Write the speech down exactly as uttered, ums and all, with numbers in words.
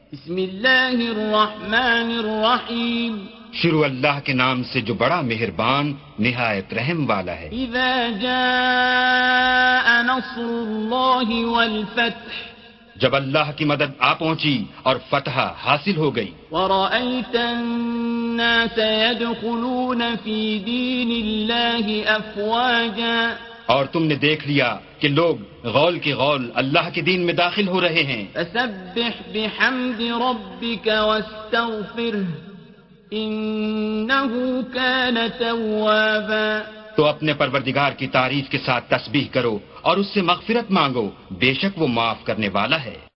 बिस्मिल्लाहिर्रहमानिर्रहीम। शुरू अल्लाह के नाम से जो बड़ा मेहरबान निहायत रहम वाला है। इज़ा जाअ नस्रुल्लाहि वल फत्ह, जब अल्लाह की मदद आ पहुंची और फतह हासिल हो गई। वरअयतन नास यदखुलून फी दीनिल्लाहि अफ़वाजा, और तुमने देख लिया कि लोग गौल की गौल अल्लाह के दीन में दाखिल हो रहे हैं। फसब्बिह बिहम्दि रब्बिक वस्तगफिरह इन्नहु कान तव्वाबा, तो अपने परवरदिगार की तारीफ के साथ तस्बीह करो और उससे मगफिरत मांगो, बेशक वो माफ करने वाला है।